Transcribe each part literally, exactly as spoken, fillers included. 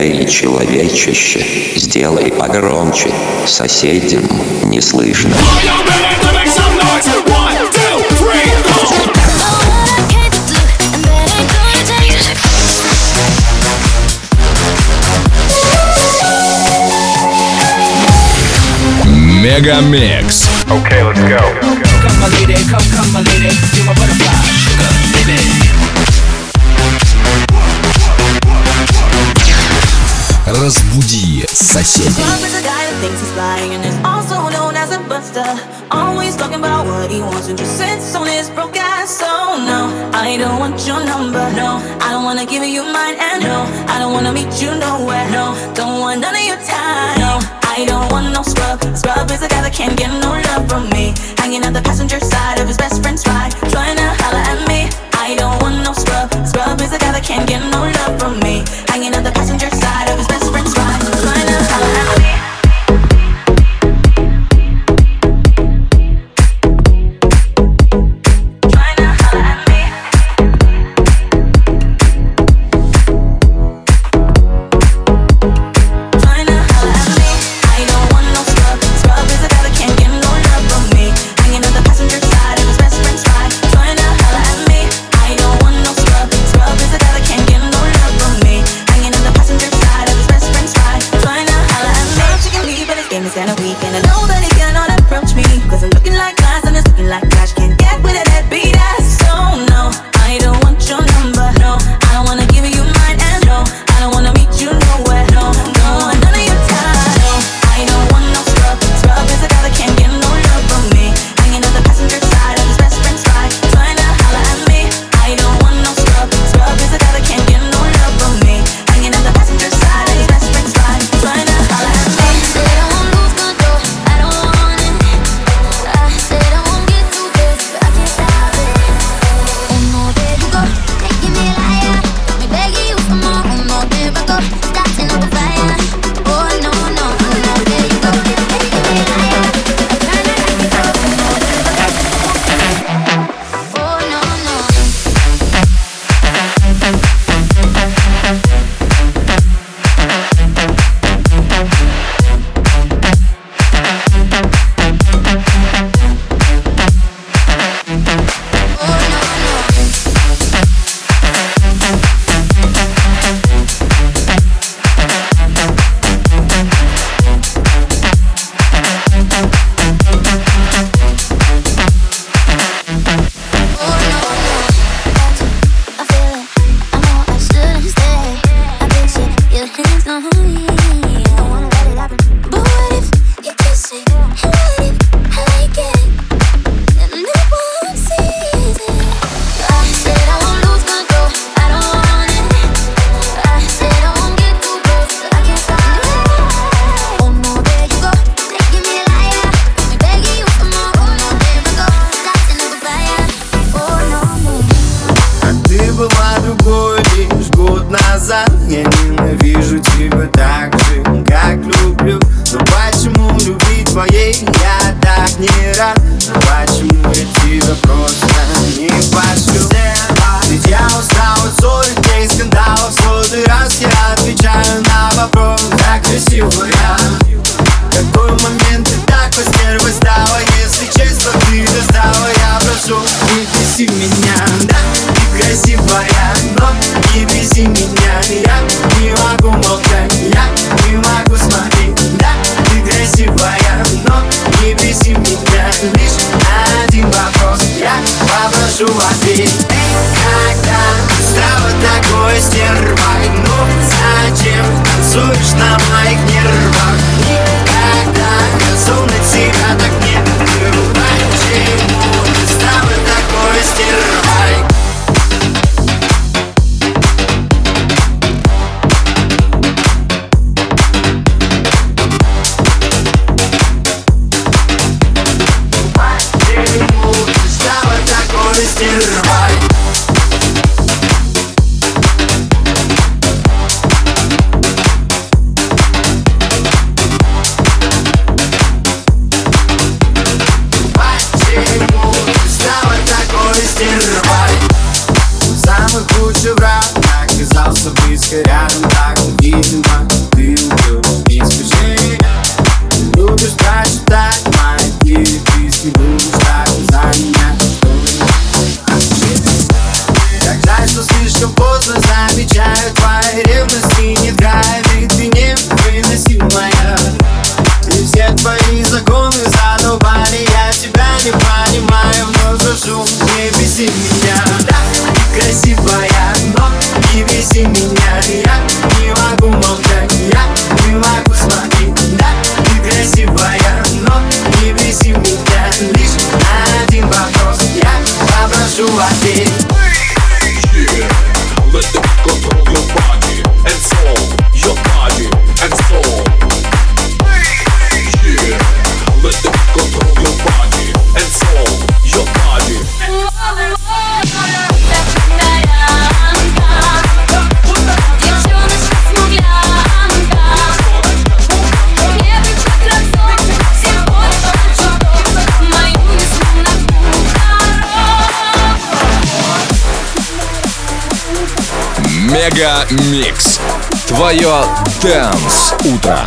Эй, человечище, сделай погромче, соседям не слышно. Мегамикс. Okay, let's go. Come my lady, come, come my lady, you're my butterfly, sugar, baby. Разбуди соседей. Love is a guy that thinks he's flying and is also known as a buster. Always talking about what he wants and just sits on his broke ass. So no, I don't want your number. No, I don't wanna give you mine. And no, I don't wanna meet you nowhere. No, don't want none of your time. No, I don't want no scrub. Scrub is a guy that can't get no love from me. Hanging out the passenger side of his best friend's ride, trying to holler at me. I don't want no scrub. Scrub is a guy that can't get no love from me. Hanging out the passenger side of his best friend's ride, trying to holler at me. Я ненавижу тебя так же, как люблю. Но почему любви твоей я так не рад? Но почему я тебя просто не пошлю? Ведь я устал от ссоры, дней скандалов. Сотый раз я отвечаю на вопрос: как красивая. Какой момент ты так постервой стала? Если честно, ты достала. Я прошу, не беси меня. Да, ты красивая, но не беси меня. Я не могу молчать, я не могу смотреть. Да, ты красивая, но не беси меня. Лишь один вопрос, я попрошу ответить. Когда стала такой стервой, ну зачем танцуешь на моих нервах? Мега Микс. Твое Dance утро.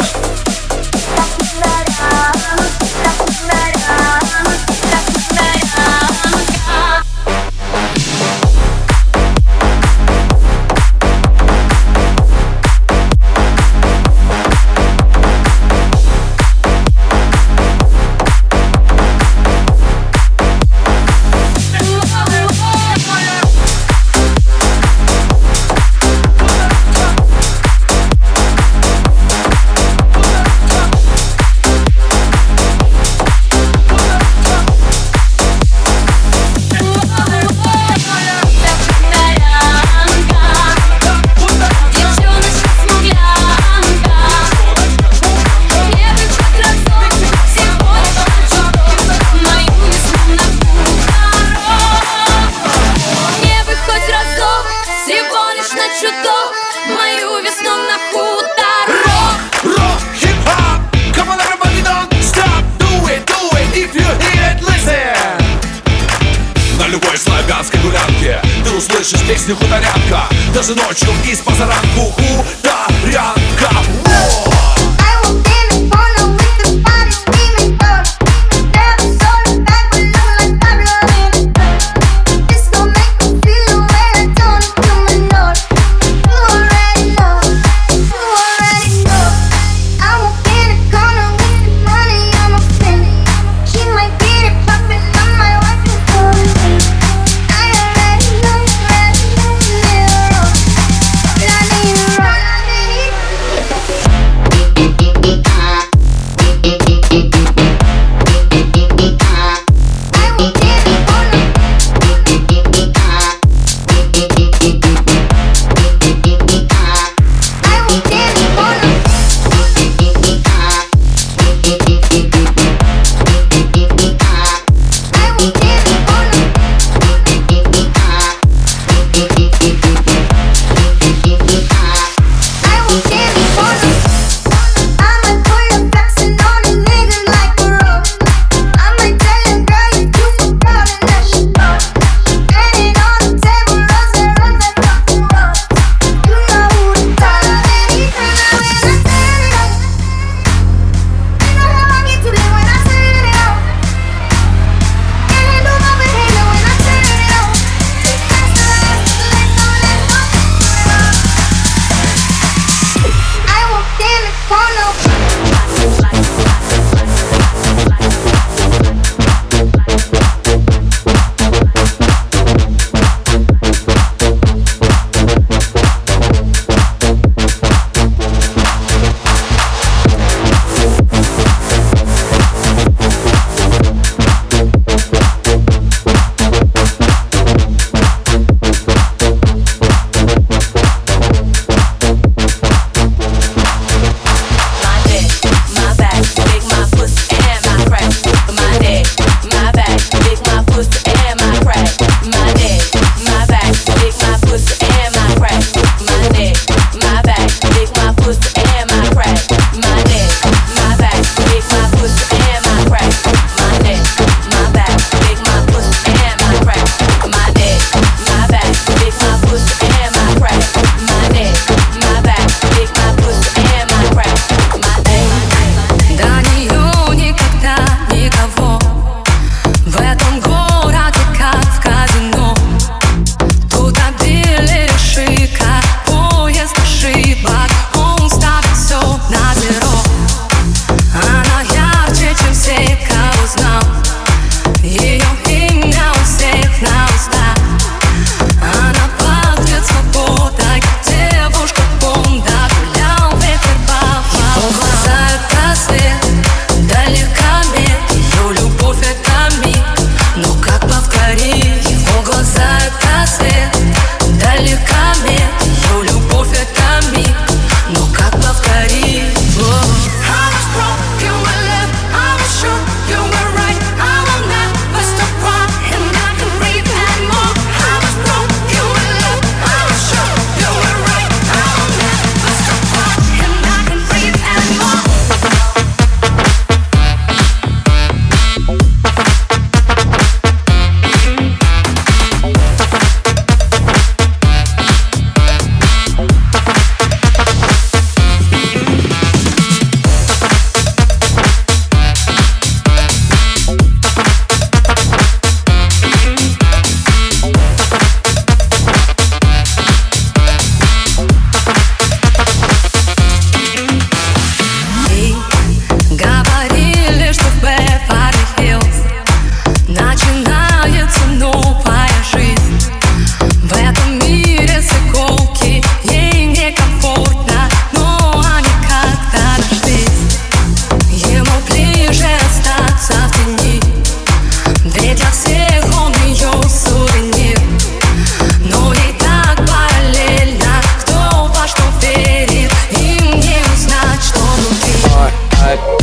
Услышишь песню хуторянка, даже ночью из позаранку хуторянка.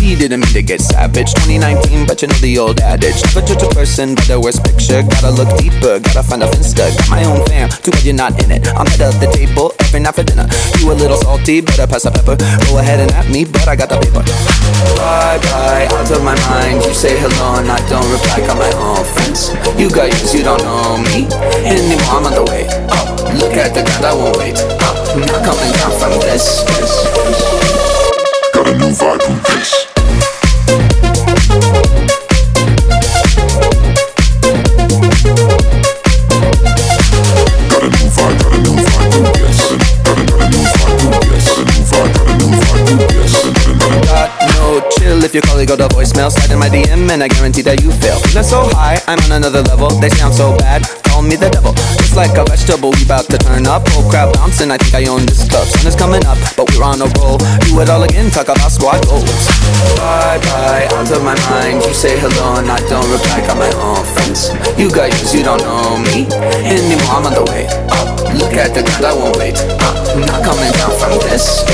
He didn't mean to get savage. twenty nineteen, but you know the old adage. Never judge a person by the worst picture. Gotta look deeper, gotta find a finsta. Got my own fam, too bad you're not in it. I'm head of the table every night for dinner. You a little salty, better pass the pepper. Go ahead and at me, but I got the paper. Bye bye, out of my mind. You say hello and I don't reply. Got my own friends. You guys, you don't know me anymore. I'm on the way. Oh, look at the ground, I won't wait. Oh, I'm not coming down from this. Got a new vibe from this. Got a new vibe, got a new vibe from this. Got a, got a new vibe from this. Got a new vibe, got a new vibe from this. Got no chill if you call it, go to voicemail. Slide in my D M and I guarantee that you fail. Feeling so high, I'm on another level. They sound so bad, call me the devil. Just like a vegetable, we bout to turn up. Whole crowd bouncing, I think I own this club. Sun is coming up, but we're on a roll. Do it all again, talk about squad goals. Bye bye, out of my mind. You say hello and I don't reply. Got my own friends. You guys, you don't know me anymore. I'm on the way. Oh, look at the ground, I won't wait. Oh, I'm not coming down from this.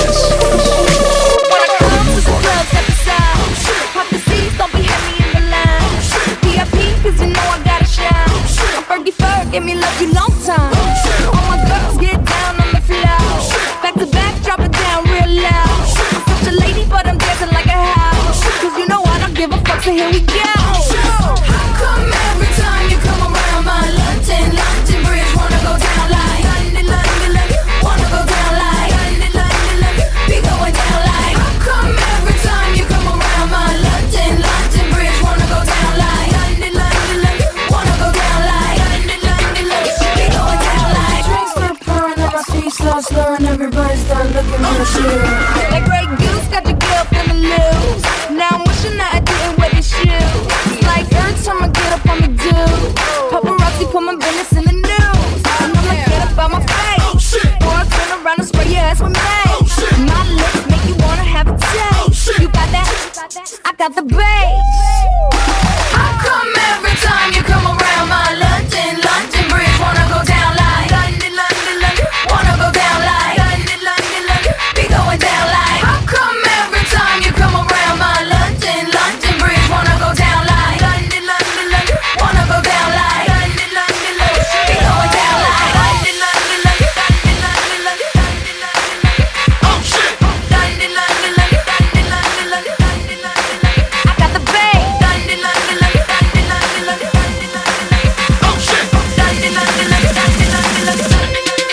Give me love you long time. All my girls get down on the floor. Back to back, drop it down real loud. I'm such a lady, but I'm dancing like a house. Cause you know I don't give a fuck, so here we go. How come every time you come around my London, London Bridge wanna go down like London, London, London, wanna go down like London, London, London, be going down like. How come every time you come around my London, London Bridge wanna go down like London, London, London, wanna go down like. Start slurring, everybody start looking real shit. That Grey Goose got your girl feeling loose. Now I'm wishing that I didn't wear these shoes. It's like every time I get up on the do, paparazzi put my business in the news. And I'm like, get up out my face. Or I turn around and spray your ass with mace. My lips make you wanna have a taste. You got that? I got the bass. How come every time you come around my London, London Bridge wanna go down like London, London, London, wanna go down like London, London, London, be going down like. How come every time you come around my London, London Bridge wanna go down like London, London, London, wanna go down like London, London, London, be going down like London, London, London, London, London, London, London, London. Oh shit! London, London, London, London, London, London, London, London. I got the bass. London, London, London, London, London, London, London, London. Oh shit! London, London, London, London, London, London, London.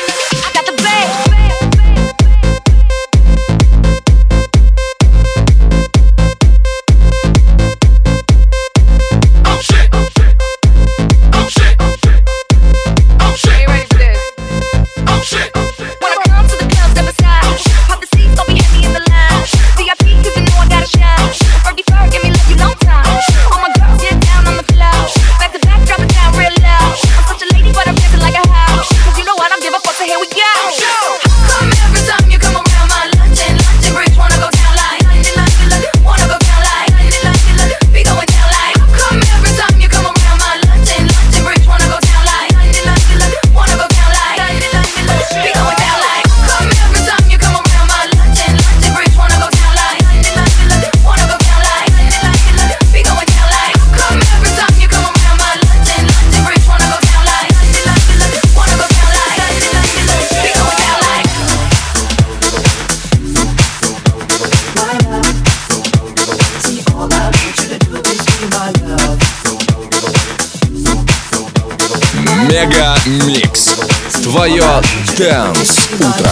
Мега Микс. Твое Dance утро.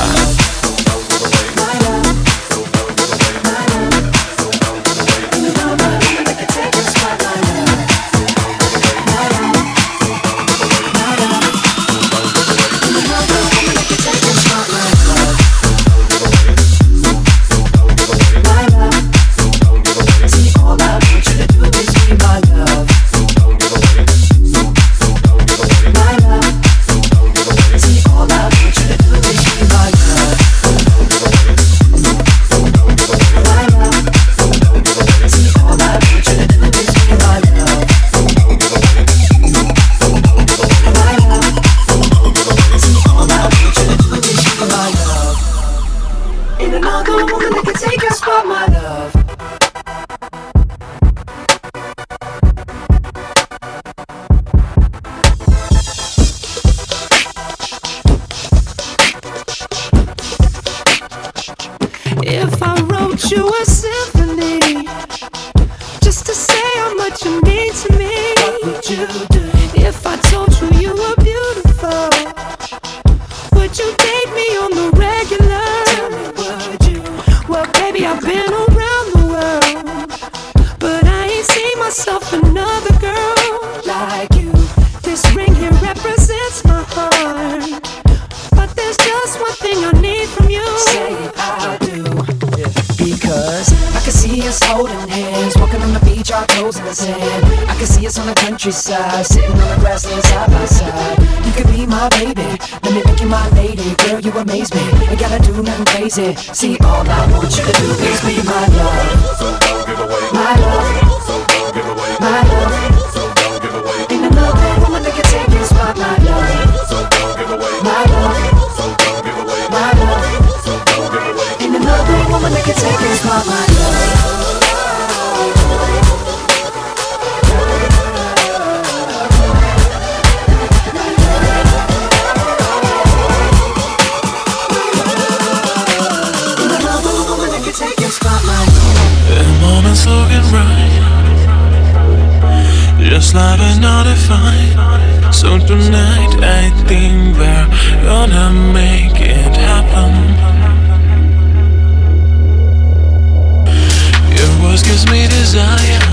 See all I want you to do is be my love. If I wrote you a symphony just to say how much you mean to me, what would you do? If I told you you were beautiful, would you date me on the regular? Tell me, would you? Well, baby, I've been around the world, but I ain't seen myself another girl like you. This ring here represents my heart, but there's just one thing I need from you. Say I do, yeah. Because I can see us holding hands, walking on the beach, our toes in the sand. I can see us on the countryside, sitting on the grassland side by side. You could be my baby, let me make you my lady. Girl, you amaze me, ain't gotta do nothing crazy. See, all I want you to do is be my love. So don't give away my love. So don't give away my love. So don't give away. Ain't another woman that can take your spot, my love. So don't give away my love. So don't give away my love. So don't give away. Ain't another woman that can take your spot, my love. Looking right, just like another fight. So tonight I think we're gonna make it happen. Your voice gives me desire,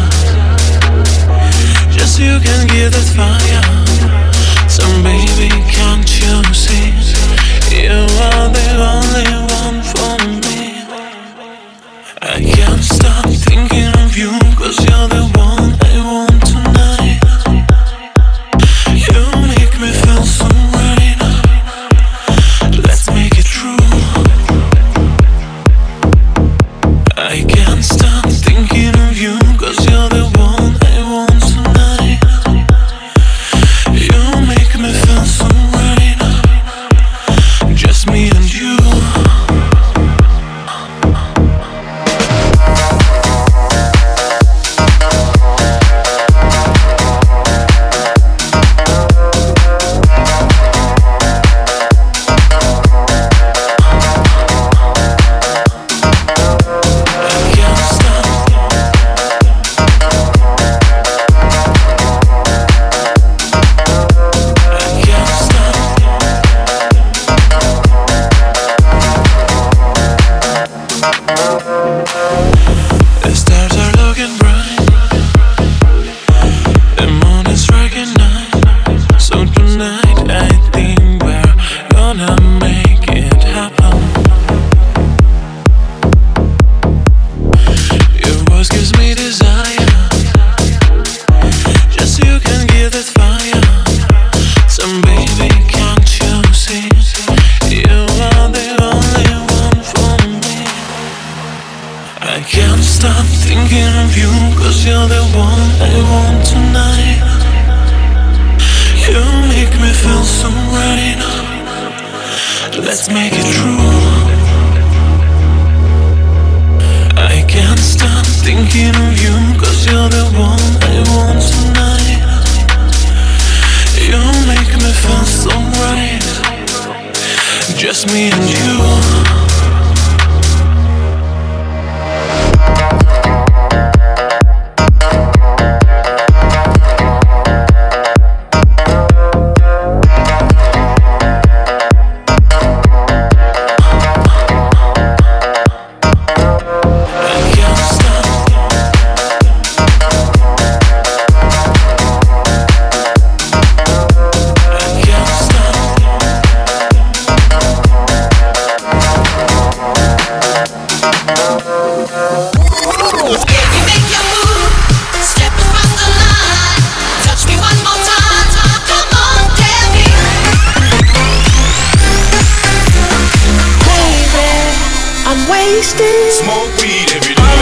just you can give that fire. So baby, can't you see, you are the only one for me. I can't stop thinking of you, cause you're the one I want tonight. You make me feel so right. Let's make it true. I can't stop thinking of you, cause you're the one I want tonight. You make me feel so right. Just me and you. Let's make it true. I can't stop thinking of you, cause you're the one I want tonight. You make me feel so right. Just me and you. Smoke weed every day.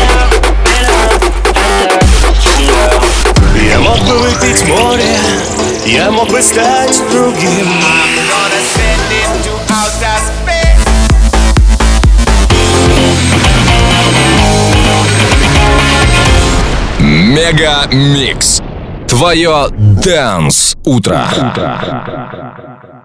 Я мог бы выпить море, я мог бы стать другим. Мега Микс. Твое Dance утро.